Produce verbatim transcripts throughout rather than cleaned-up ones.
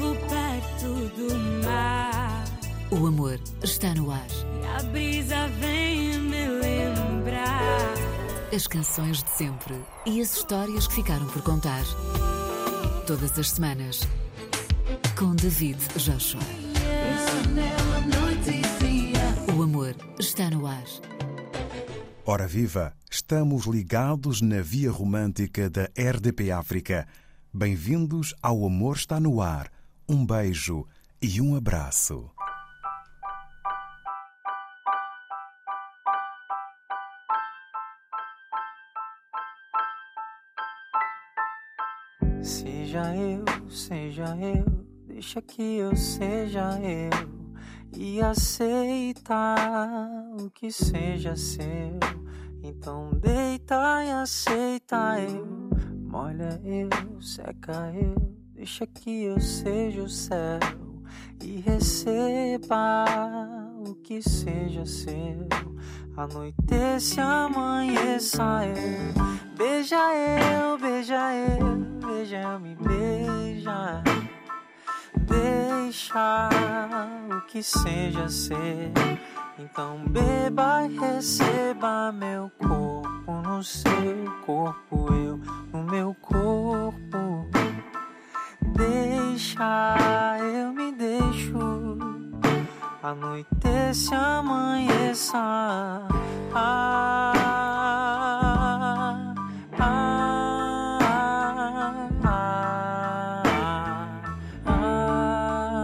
vivo perto do mar. O amor está no ar. E a brisa vem me lembrar as canções de sempre e as histórias que ficaram por contar. Todas as semanas, com David Joshua. O amor está no ar. Ora viva, estamos ligados na via romântica da R D P África. Bem-vindos ao Amor Está no Ar. Um beijo e um abraço. Seja eu, seja eu, deixa que eu seja eu e aceita o que seja seu. Então deita e aceita eu, molha eu, seca eu, deixa que eu seja o céu e receba o que seja seu. Anoitece, amanheça eu, beija eu, beija eu, beija eu, me beija. Deixa o que seja ser. Então beba e receba meu corpo no seu corpo, eu no meu corpo. Deixa, eu me deixo. Anoitece, amanheça. Ah, ah, ah, ah,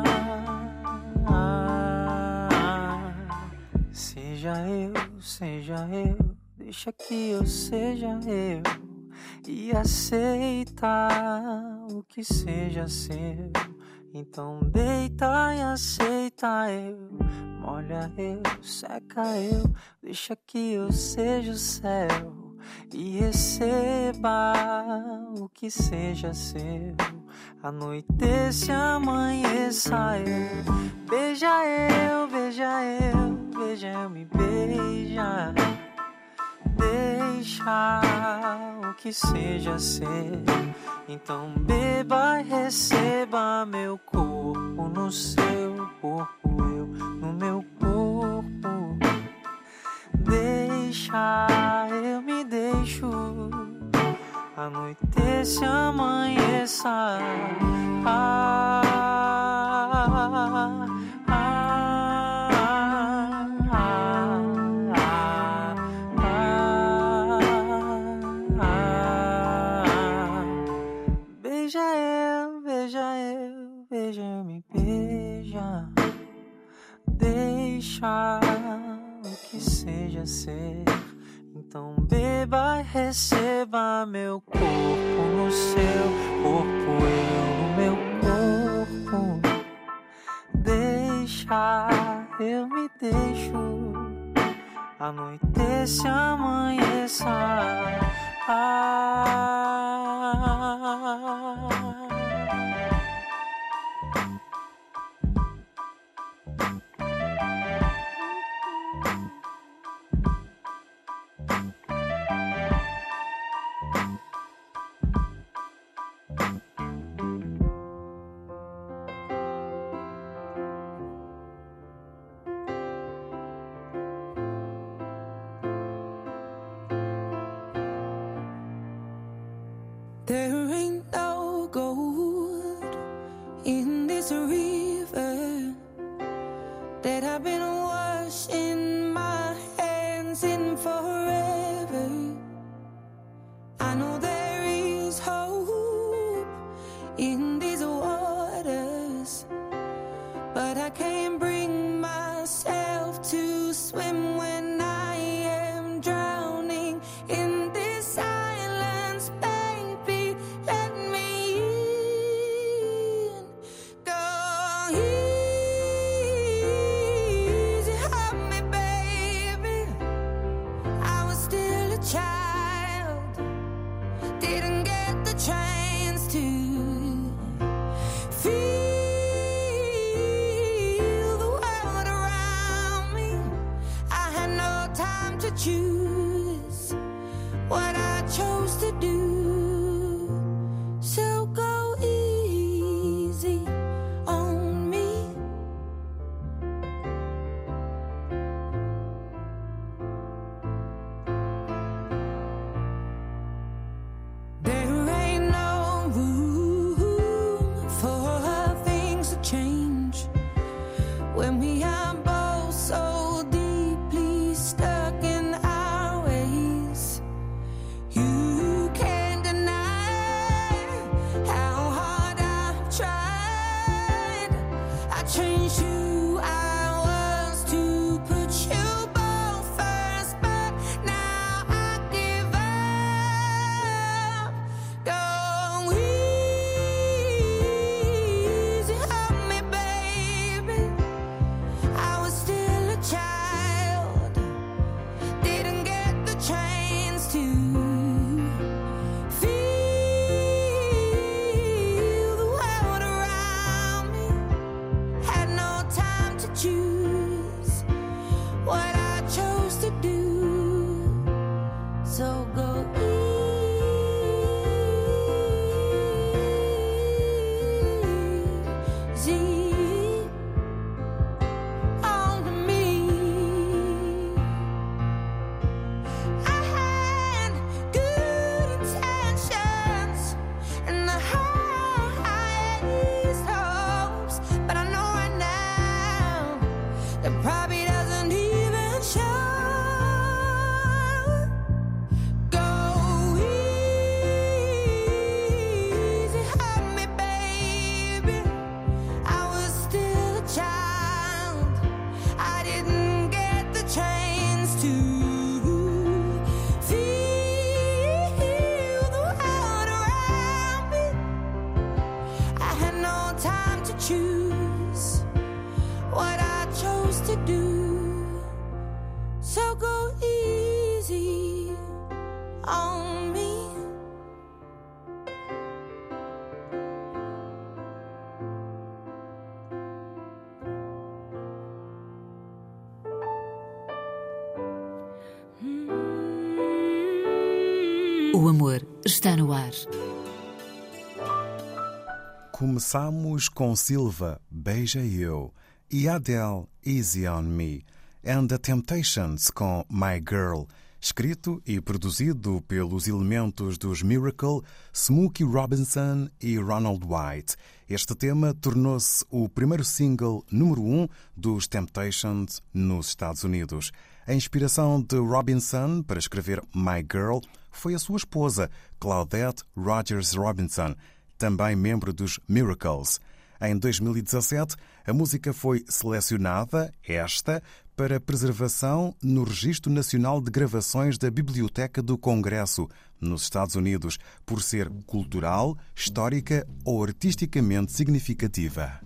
ah. Seja eu, seja eu, deixa que eu seja eu e aceita o que seja seu. Então deita e aceita eu, molha eu, seca eu, deixa que eu seja o céu e receba o que seja seu. Anoitece, amanheça eu, beija eu, beija eu, beija eu, me beija. Deixa o que seja ser. Então beba e receba meu corpo no seu corpo, eu no meu corpo. Deixa, eu me deixo. Anoitece, amanheça. Ah, ah, beija eu, beija eu, beija eu, me beija. Deixa o que seja ser. Então beba e receba meu corpo no seu corpo, eu no meu corpo. Deixa, eu me deixo. Anoitece, amanheça. Ah, there ain't no gold in this river that I've been washing my hands in forever. I know there is hope in these waters, but I can't bring myself to swim when I am drowning in this silence. Baby, let me in. Go easy, hold me, baby. I was still a child, didn't get the chance to feel the world around me. I had no time to choose what I chose to do. So go easy I had no time to choose what I chose to do. So go easy on me. O amor está no ar. Começamos com Silva, Beija Eu, e Adele, Easy on Me, and The Temptations com My Girl, escrito e produzido pelos elementos dos Miracle, Smokey Robinson e Ronald White. Este tema tornou-se o primeiro single número um dos Temptations nos Estados Unidos. A inspiração de Robinson para escrever My Girl foi a sua esposa, Claudette Rogers Robinson, também membro dos Miracles. Em dois mil e dezassete, a música foi selecionada, esta, para preservação no Registro Nacional de Gravações da Biblioteca do Congresso, nos Estados Unidos, por ser cultural, histórica ou artisticamente significativa.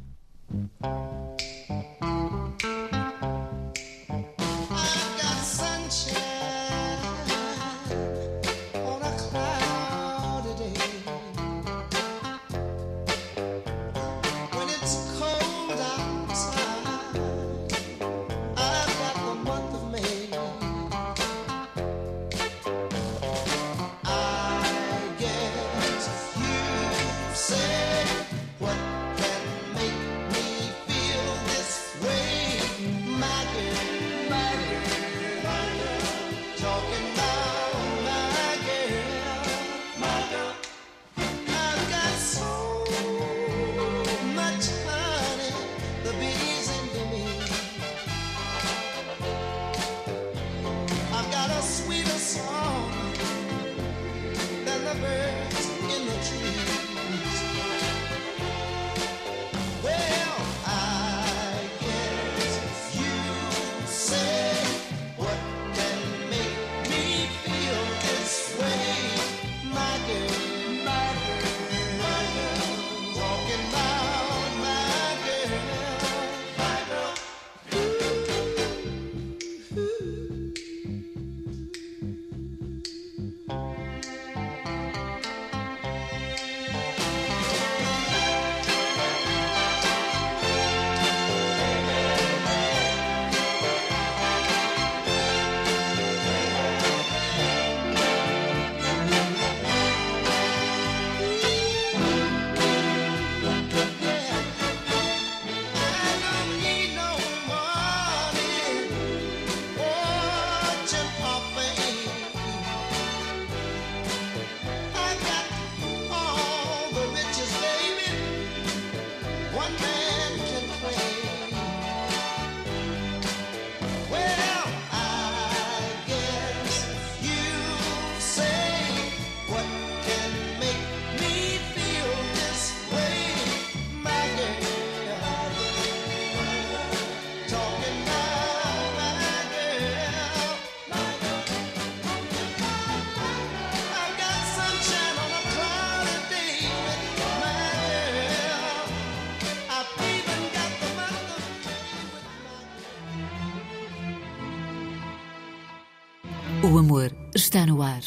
O amor está no ar.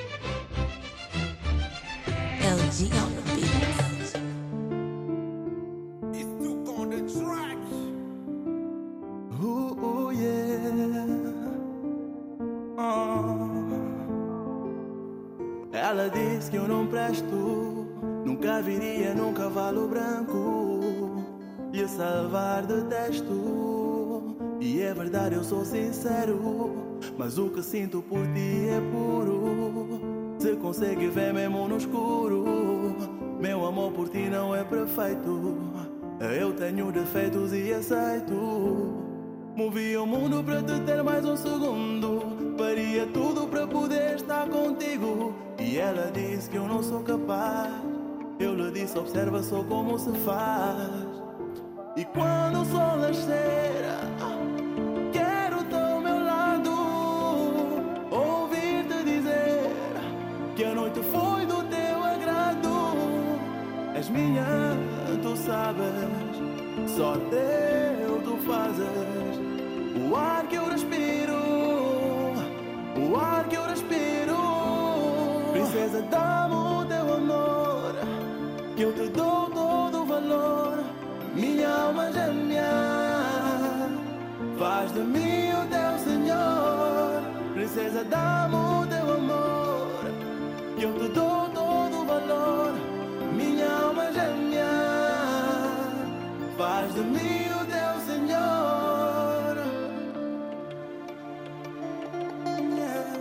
L G on the beat. Ooh, ooh, yeah. Oh. Ela disse que eu não presto, nunca viria num cavalo branco e a salvar detesto. E é verdade, eu sou sincero, mas o que sinto por ti é puro. Se consegue ver mesmo no escuro, meu amor por ti não é perfeito. Eu tenho defeitos e aceito. Movi o mundo para te ter mais um segundo, faria tudo para poder estar contigo. E ela disse que eu não sou capaz. Eu lhe disse, observa só como se faz. E quando o sol nascer, quero estar ao meu lado, ouvir-te dizer que a noite foi do teu agrado. És és minha, tu sabes. Só teu tu fazes. O ar que eu respiro, o ar que eu respiro. Princesa, dá-me o teu amor, que eu te dou todo o valor. Minha alma gêmea, faz de mim o teu Senhor. Princesa, dá-me o teu amor, que eu te dou todo o valor. Minha alma gêmea, faz de mim o teu Senhor. Yeah.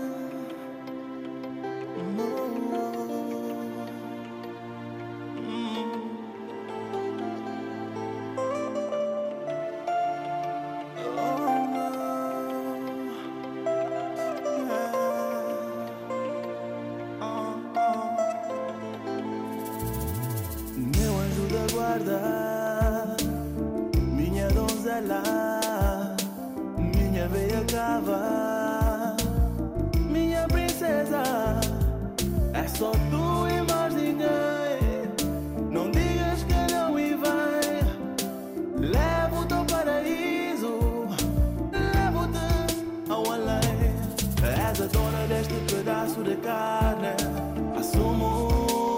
Minha donzela, minha veia cava, minha princesa, é só tu e mais ninguém. Não digas que não e vem. Levo-te ao paraíso, levo-te ao além. És a dona deste pedaço de carne, assumo.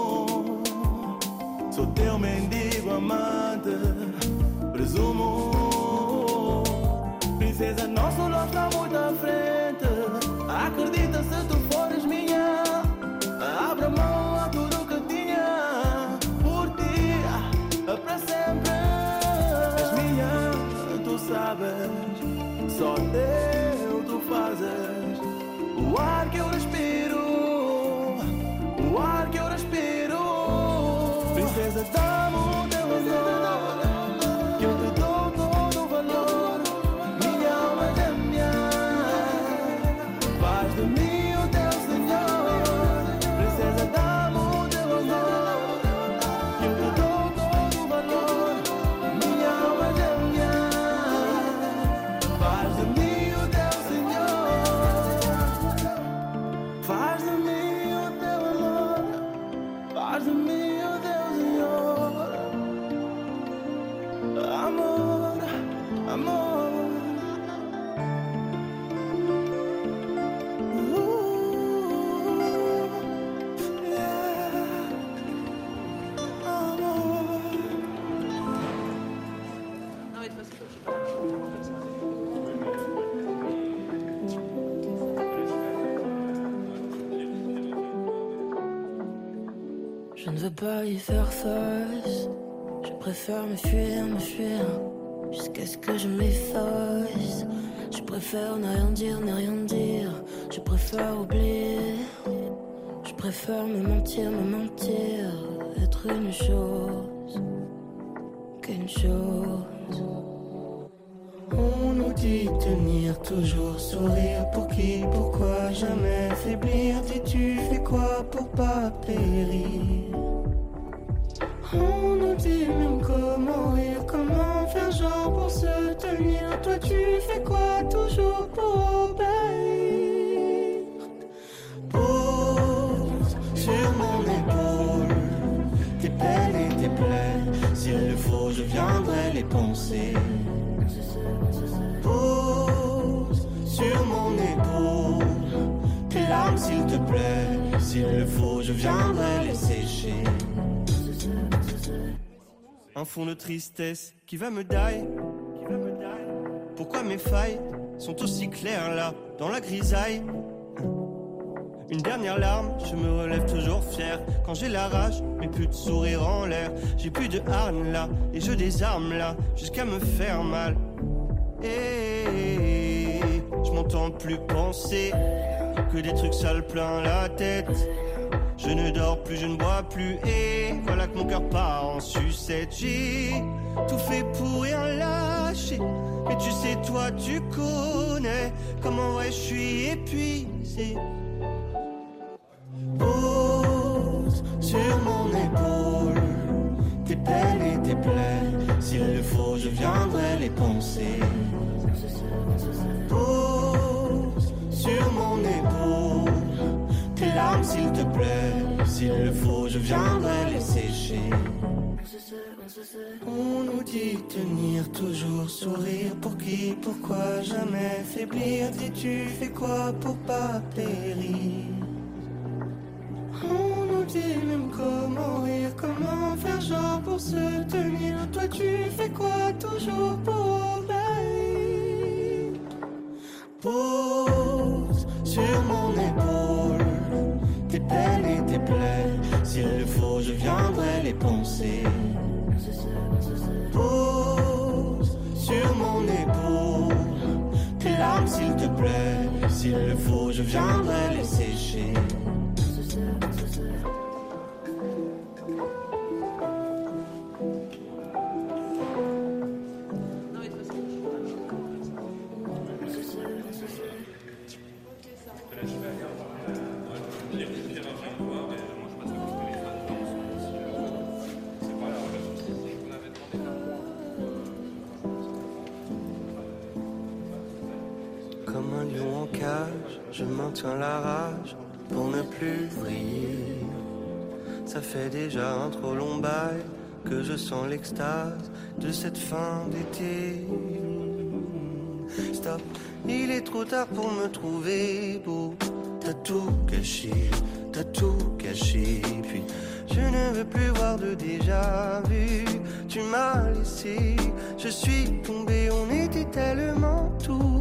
Sou teu mendigo amante, presumo. Princesa, nosso love está muito à frente. Acredita se tu fores minha. Abra mão a tudo que tinha. Por ti, para sempre. És minha, tu sabes. Só teu tu fazes. O ar que eu respiro, o ar que eu respiro. Princesa, dá-me o teu amor, que eu te dou todo o valor. Minha alma gêmea, faz de mim o teu Senhor. Princesa, dá-me o teu amor, que eu te dou todo o valor. Minha alma gêmea, faz de mim o teu Senhor. Faz de mim o teu amor, faz de mim. Amor, amor. Uh, yeah. Amor. Je ne veux pas y faire face. Je préfère me fuir, me fuir, jusqu'à ce que je m'efface. Je préfère ne rien dire, ne rien dire. Je préfère oublier. Je préfère me mentir, me mentir. Être une chose, qu'une chose. On nous dit tenir, toujours sourire. Pour qui, pourquoi jamais faiblir? Dis-tu fais quoi pour pas périr? On nous dit même comment rire, comment faire genre pour se tenir. Toi tu fais quoi toujours pour obéir? Pose sur mon épaule tes peines et tes plaies. S'il le faut je viendrai les penser. Pose sur mon épaule tes larmes s'il te plaît. S'il le faut je viendrai les sécher. Un fond de tristesse qui va me die. Pourquoi mes failles sont aussi claires là, dans la grisaille? Une dernière larme, je me relève toujours fier. Quand j'ai la rage, mais plus de sourire en l'air. J'ai plus de harne là, et je désarme là, jusqu'à me faire mal. Et je m'entends plus penser que des trucs sales plein la tête. Je ne dors plus, je ne bois plus, et voilà que mon cœur part en sucette. J'ai tout fait pour rien lâcher, mais tu sais, toi, tu connais comment ouais, je suis épuisé. Pose sur mon épaule tes peines et tes plaies. S'il le faut, je viendrai les penser. Pose sur mon épaule tes larmes s'il te plaît. S'il le faut, je viendrai les sécher. On nous dit tenir, toujours sourire. Pour qui, pourquoi, jamais faiblir. Dis-tu fais quoi pour pas périr? On nous dit même comment rire, comment faire genre pour se tenir. Toi tu fais quoi toujours pour obéir? Pose sur mon épaule tes peines et tes plaies. S'il le faut je viendrai les poncer. Pose sur mon épaule tes larmes s'il te plaît. S'il le faut je viendrai les sécher. Comme un lion en cage, je maintiens la rage pour ne plus vriller. Ça fait déjà un trop long bail que je sens l'extase de cette fin d'été. Stop, il est trop tard pour me trouver beau. T'as tout gâché, t'as tout caché. Puis je ne veux plus voir de déjà vu. Tu m'as laissé, je suis tombé, on était tellement tout.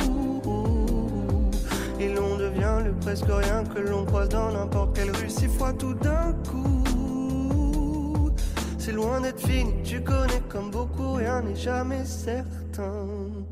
Et l'on devient le presque rien que l'on croise dans n'importe quelle rue. Six fois tout d'un coup. C'est loin d'être fini, tu connais comme beaucoup, rien n'est jamais certain.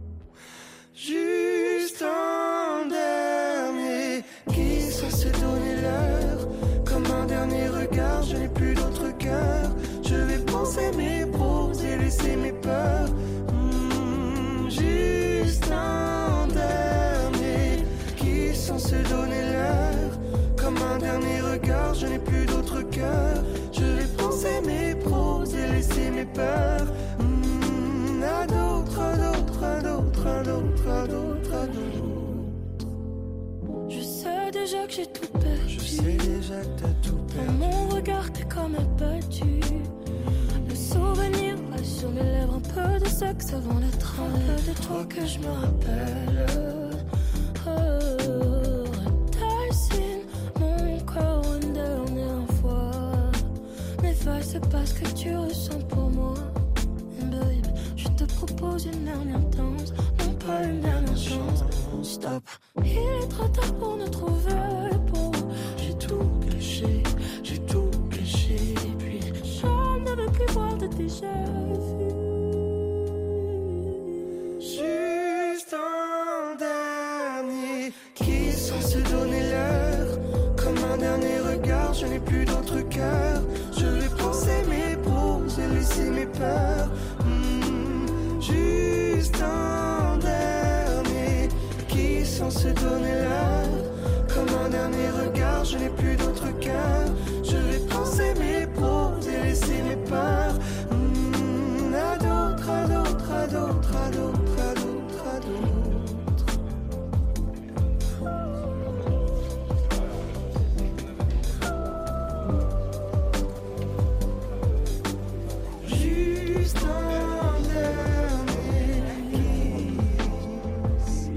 Juste un dernier qui sait se donner l'heure. Comme un dernier regard, je n'ai plus d'autre cœur. Je vais penser mes proses et laisser mes peurs. Mmh, juste un dernier qui sans se donner l'heure. Comme un dernier regard, je n'ai plus d'autre cœur. Je vais penser mes proses et laisser mes peurs. Mmh, à d'autres, à d'autres, à d'autres, à d'autres, à d'autres, à d'autres. Je sais déjà que j'ai tout perdu. Je sais déjà que t'as tout perdu. Dans mon regard, t'es comme abattu. Le souvenir reste sur mes lèvres. Un peu de sexe avant d'être un peu de toi que je me rappelle. Oh, dessine mon corps une dernière fois. N'efface pas ce que tu ressens pour moi. Babe, je te propose une dernière danse. Non pas une dernière chance. Stop. Il est trop tard pour nous trouver beau. J'ai tout caché, j'ai tout caché. Puis je ne veux plus voir de déjà vu. Juste un dernier qui sans se donner l'heure. Comme un dernier regard, je n'ai plus d'autre cœur. Je vais penser mes proses et laisser mes peurs. Mmh, juste un dernier qui sans se donner l'heure. Comme un dernier regard, je n'ai plus d'autre cœur. Je vais penser mes proses et laisser mes peurs. Mmh, à d'autres, à d'autres, à d'autres, à d'autres, à d'autres, à d'autres. Juste un dernier kiss.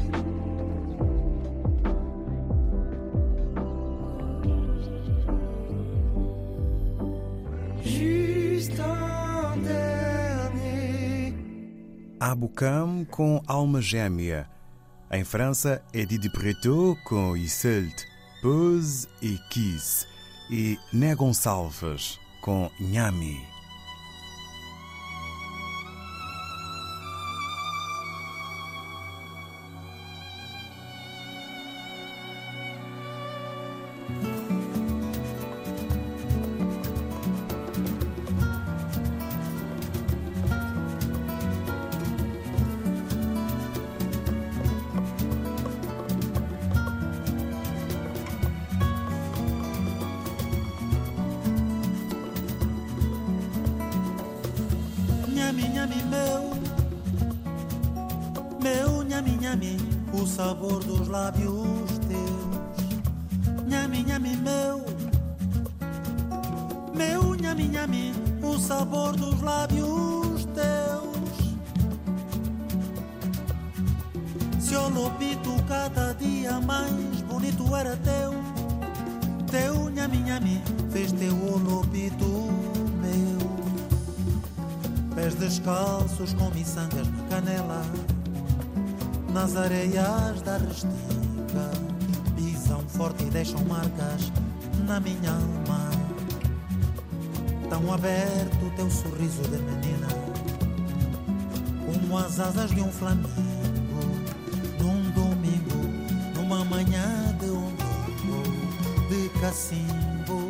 Juste un dernier. Aboukam com Alma Gêmea. Em França, é Didi Preto com Iseult, Pose e Kiss. E Né Gonçalves com Nhami. Nhami, nhami, meu, meu, nhami, nhami, o sabor dos lábios teus. Nhami, nhami, meu, meu, nhami, nhami, o o sabor dos lábios teus. Seu lobito cada dia mais bonito era teu. Teu nhami-nhami fez teu lobito meu. Pés descalços com miçangas na canela, nas areias da restinga, pisam forte e deixam marcas na minha alma. Tão aberto teu sorriso de menina, como as asas de um flamingo, num domingo, numa manhã de umbigo, de cacimbo.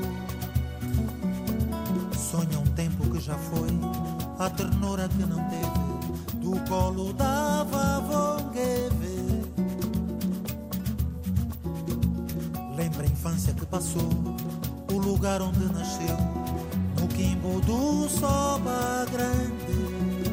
Sonha um tempo que já foi, a ternura que não teve, do colo da vavongueve. Lembra a infância que passou, o lugar onde nasceu, no quimbo do Soba Grande.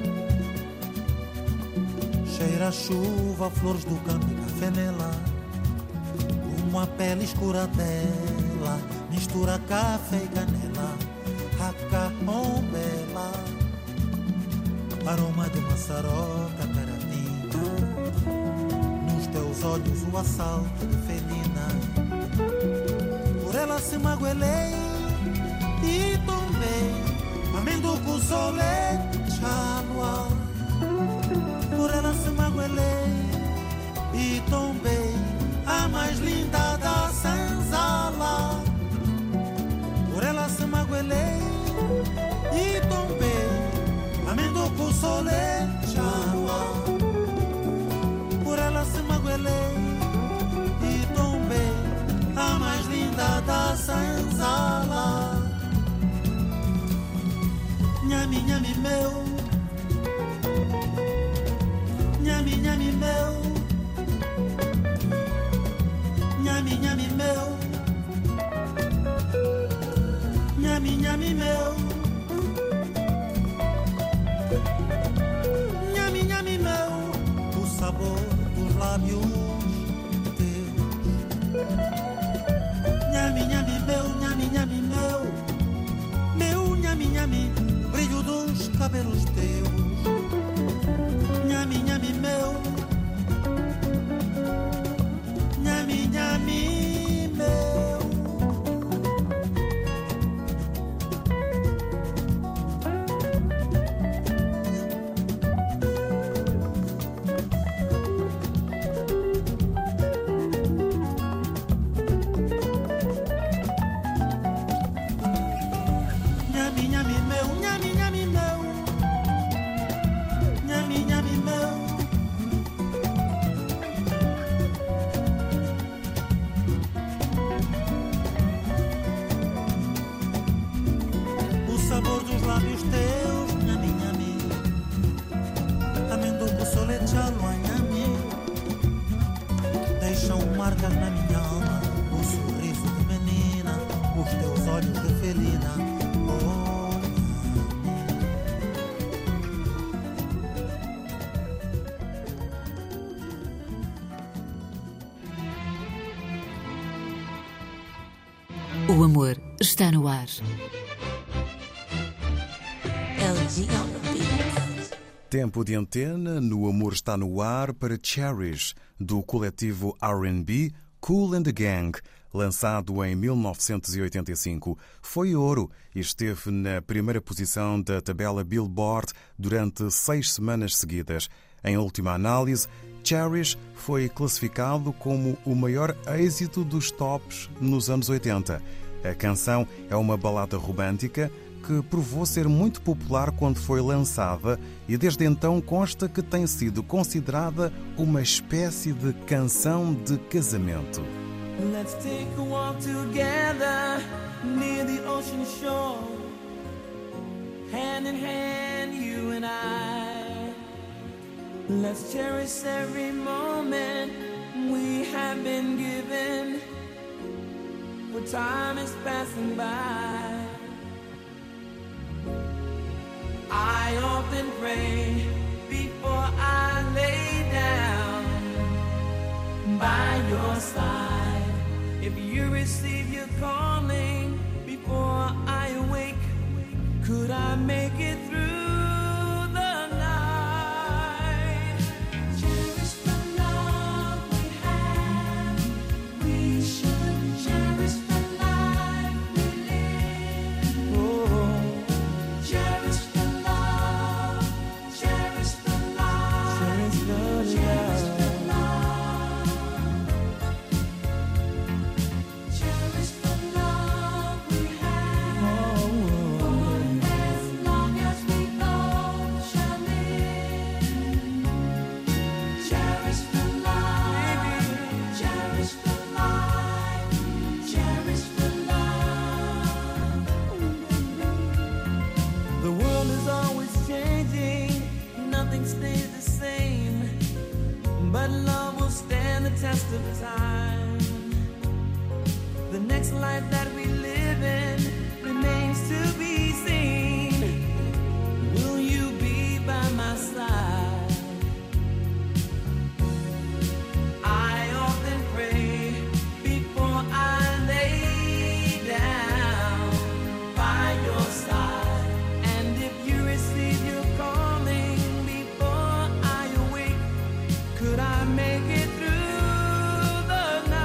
Cheira a chuva, flores do campo e café nela, uma pele escura dela, mistura café e canela, acaombela, aroma de maçaroca, carapinha, nos teus olhos o assalto de felina. Por ela se magoelei e tombei, amendoco solé, chalua. Por ela se magoelei e tombei, a mais linda da senzala. Por ela se magoelei e tombei, amendoco solé, chalua. Por ela se magoelei e tombei, a mais linda da senzala. Nhami, nhami meu, nhami, nhami meu, nhami, nhami meu, nhami, nhami meu, nhami, nhami meu, o sabor dos lábios teus. Nhami, nhami meu, nhami, nhami meu, meu nhami, nhami, brilho dos cabelos teus. Nhami, nhami meu, nhami, nhami meu. Nhami, nhami meu, nhami, nhami meu, nhami, nhami meu. O sabor dos lábios teus, nhami, nhami, amendoco solé, chalua, nhami, deixam marcas na minha alma, o sorriso de menina, os teus olhos de felina. O amor está no ar. L G on the beat. Tempo de antena no Amor Está no Ar para Cherish, do coletivo R and B Kool and the Gang, lançado em mil novecentos e oitenta e cinco. Foi ouro e esteve na primeira posição da tabela Billboard durante seis semanas seguidas. Em última análise, Cherish foi classificado como o maior êxito dos tops nos anos oitenta. A canção é uma balada romântica que provou ser muito popular quando foi lançada e desde então consta que tem sido considerada uma espécie de canção de casamento. Let's take a walk together near the ocean shore, hand in hand, you and I. Let's cherish every moment we have been given, for time is passing by. I often pray before I lay down by your side. If you receive your calling before I awake, Could I make it through the night? Cherish the love we have. We should cherish the life we live. Oh, Cherish the love. Cherish the life. cherish the Cherish love. the love. Cherish the love we have. For as long as we both shall live. Cherish the life. Cherish the life. Cherish the love. The world is always changing, nothing stays the same, but love will stand the test of time. The next life that we live in remains to be seen. Will you be by my side? I often pray before I lay down by your side. And if you receive your calling before I awake, could I make it through the night?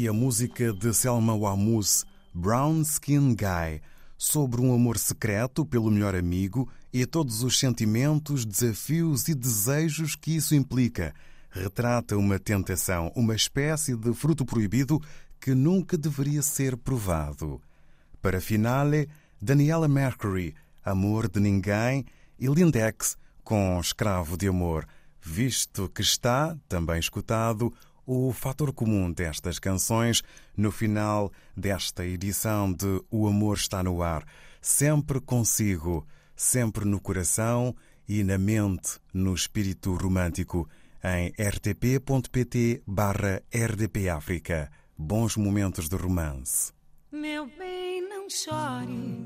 a música de Selma Wamous, Brown Skin Guy, sobre um amor secreto pelo melhor amigo e todos os sentimentos, desafios e desejos que isso implica. Retrata uma tentação, uma espécie de fruto proibido que nunca deveria ser provado. Para finale, Daniela Mercury, Amor de Ninguém, e Lindex, com Escravo de Amor, visto que está, também escutado, o fator comum destas canções no final desta edição de O Amor Está no Ar. Sempre consigo, sempre no coração e na mente, no espírito romântico, em rtp.pt barra rdpafrica. Bons momentos de romance. Meu bem, não chore.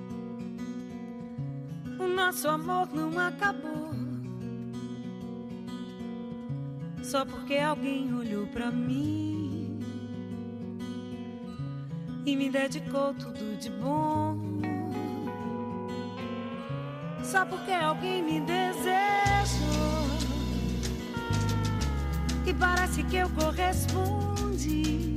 O nosso amor não acabou só porque alguém olhou pra mim e me dedicou tudo de bom. Só porque alguém me desejou e parece que eu correspondi.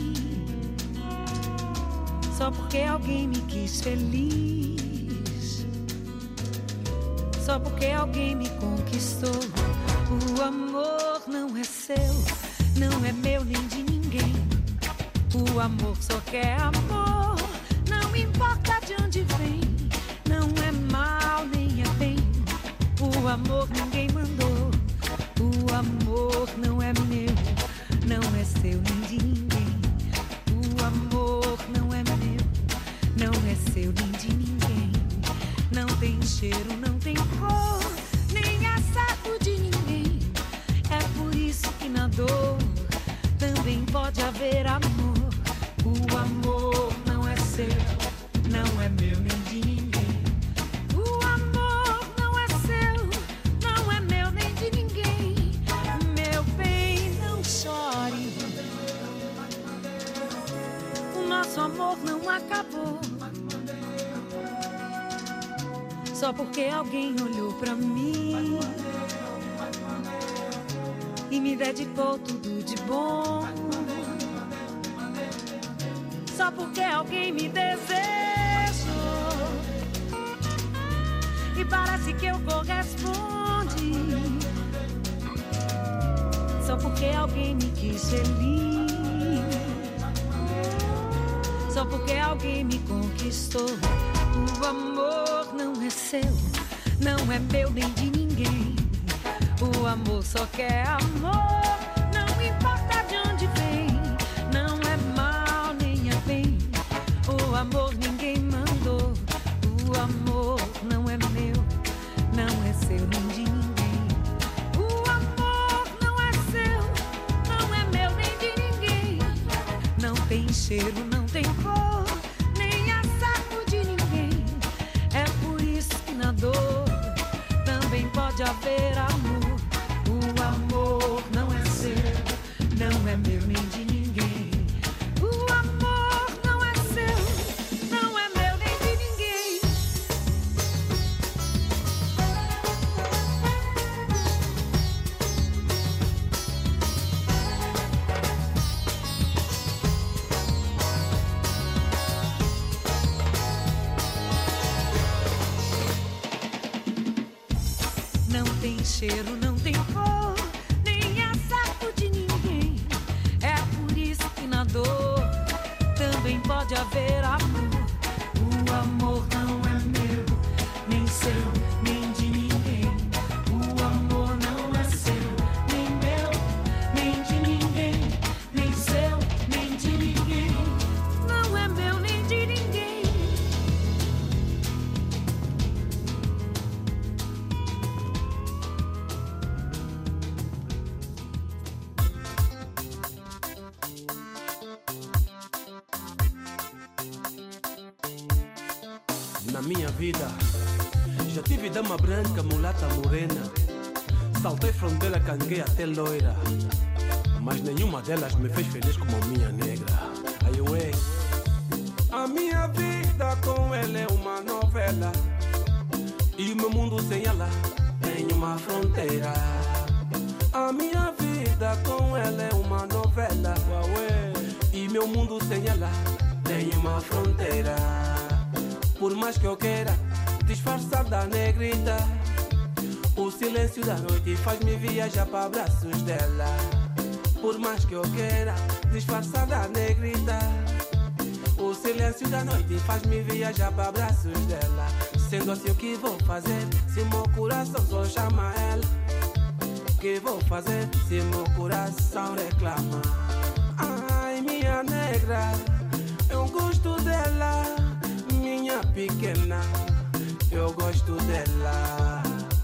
Só porque alguém me quis feliz. Só porque alguém me conquistou. O amor não é seu, não é meu nem de ninguém. O amor só quer amor, não importa de onde vem. Não é mal nem é bem. O amor ninguém mandou. O amor não é meu, não é seu nem de ninguém. O amor não é meu, não é seu nem de ninguém. Não tem cheiro, não tem cor, nem é certo de ninguém. É por isso que na dor também pode haver amor. O amor não é seu, não é meu nem de ninguém. O amor não é seu, não é meu nem de ninguém. Meu bem, não chore. O nosso amor não acabou só porque alguém olhou pra mim e me dedicou tudo de bom. Só porque alguém me desejou e parece que eu correspondi. Só porque alguém me quis feliz. Só porque alguém me conquistou. O amor não é seu, não é meu nem de ninguém. O amor só quer amor, não importa de onde vem. Não é mal nem é bem. O amor ninguém mandou. O amor não é meu, não é seu nem de ninguém. O amor não é seu, não é meu nem de ninguém. Não tem cheiro, não tem cor, nem é saco de ninguém. É por isso que na dor também pode haver amor. O amor não é seu, não é meu nem de ninguém. O amor não é seu, não é meu nem de ninguém. Não tem cheiro, não tem cor, nem é saco de ninguém. É por isso que na dor também pode haver amor. O amor não é meu, nem seu, nem de ninguém. O amor não é seu, nem meu, nem de ninguém. Nem seu, nem de ninguém. Não é meu, nem de ninguém. Na minha vida já tive dama branca, mulata morena. Saltei fronteira, canguei até loira, mas nenhuma delas me fez feliz como a minha negra. Aí eu é. A minha vida com ela é uma novela, e o meu mundo sem ela tem uma fronteira. A minha vida com ela é uma novela, e meu mundo sem ela tem uma fronteira. Por mais que eu queira disfarçar da negrita, o silêncio da noite faz-me viajar para abraços dela. Por mais que eu queira disfarçar da negrita, o silêncio da noite faz-me viajar para abraços dela. Sendo assim, o que vou fazer se o meu coração só chama ela? O que vou fazer se o meu coração reclama? Ai, minha negra, eu gosto dela. Minha pequena, eu gosto dela.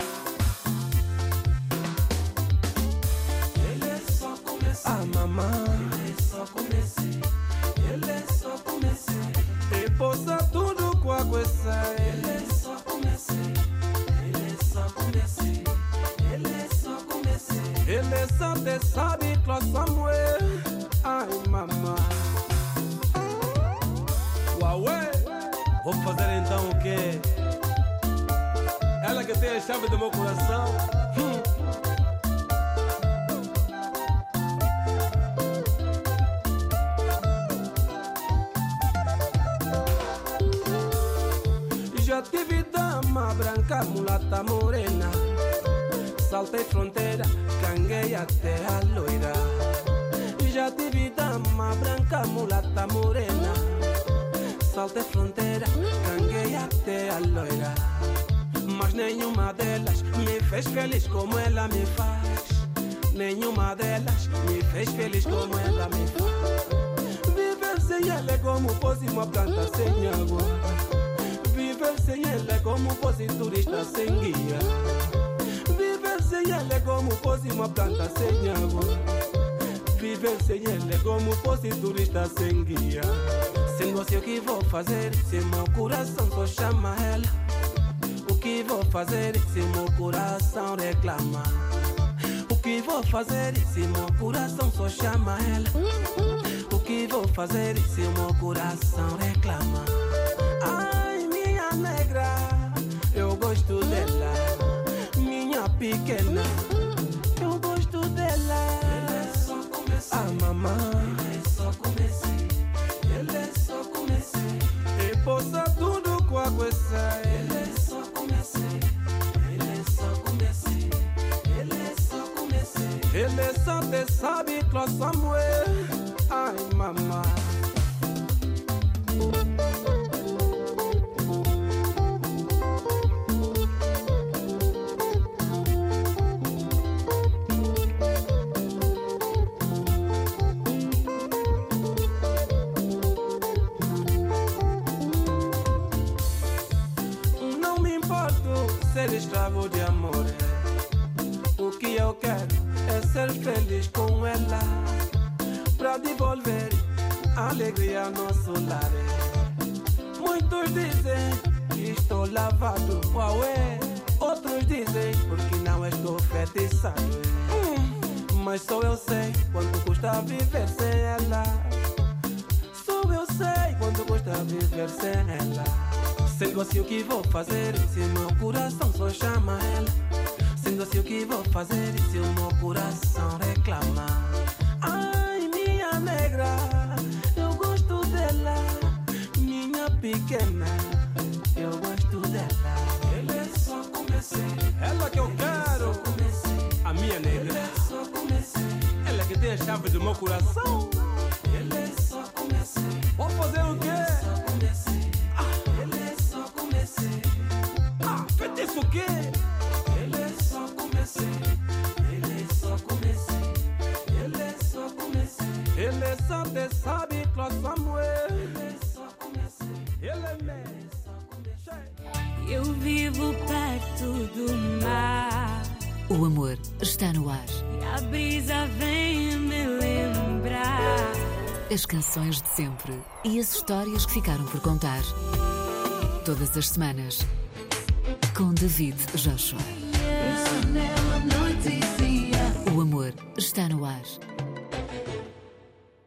Ele é só começar. Ah, mamãe, ele é só comecei. Ele é só comecei. E possa tudo com a coisa. Ele é só comecei. Ele é só comecei. Ele é só comecei. Ele é só te sabe que Samuel. Ai, mamãe. Uauê. Vou fazer então o quê? Ela que tem a chave do meu coração. Hum. Já tive dama branca, mulata morena. Saltei fronteira, canguei até a loira. Já tive dama branca, mulata morena. Saltei fronteira, canguei até a loira. Mas nenhuma delas me fez feliz como ela me faz. Nenhuma delas me fez feliz como ela me faz. Viver sem ela é como fosse uma planta sem água. Viver sem ela é como fosse turista sem guia. Viver sem ela é como fosse uma planta sem água. Viver sem ela é como fosse turista sem guia. Sendo assim, o que vou fazer se meu coração só chama ela? O que vou fazer se meu coração reclama? O que vou fazer se meu coração só chama ela? O que vou fazer se meu coração reclama? Ai, minha negra, eu gosto dela. Minha pequena, eu gosto dela. Ele é só começar. Ah, mamãe, ele é só começar. Ele é só comecei. E possa tudo com a coisa. Ele é só comecei. Ele é só comecei. Ele é só comecei. Ele é só te sabe que Samuel. Ai, mamãe. Ser escravo de amor. O que eu quero é ser feliz com ela, pra devolver a alegria ao nosso lar. Muitos dizem que estou lavado, uauê. Outros dizem porque não estou feitiçado. hum, Mas só eu sei quanto custa viver sem ela. Só eu sei quanto custa viver sem ela. Sendo assim, o que vou fazer se meu coração só chama ela? Sendo assim, o que vou fazer se o meu coração reclama? Ai, minha negra, eu gosto dela. Minha pequena, eu gosto dela. Ele é só comecei. Ela que eu quero. A minha negra. Ele é só comecei. Ela que tem a chave do meu coração. Ele é só comecei. Vou fazer o quê? Feitiço o quê? Ele é só comecei. Ele é só comecei. Ele é só comecei. Ele é só te sabe que Samuel. Ele é só comecei. Ele é só comecei. Eu vivo perto do mar. O amor está no ar. E a brisa vem me lembrar. As canções de sempre e as histórias que ficaram por contar. Todas as semanas. Com David Joshua. O amor está no ar.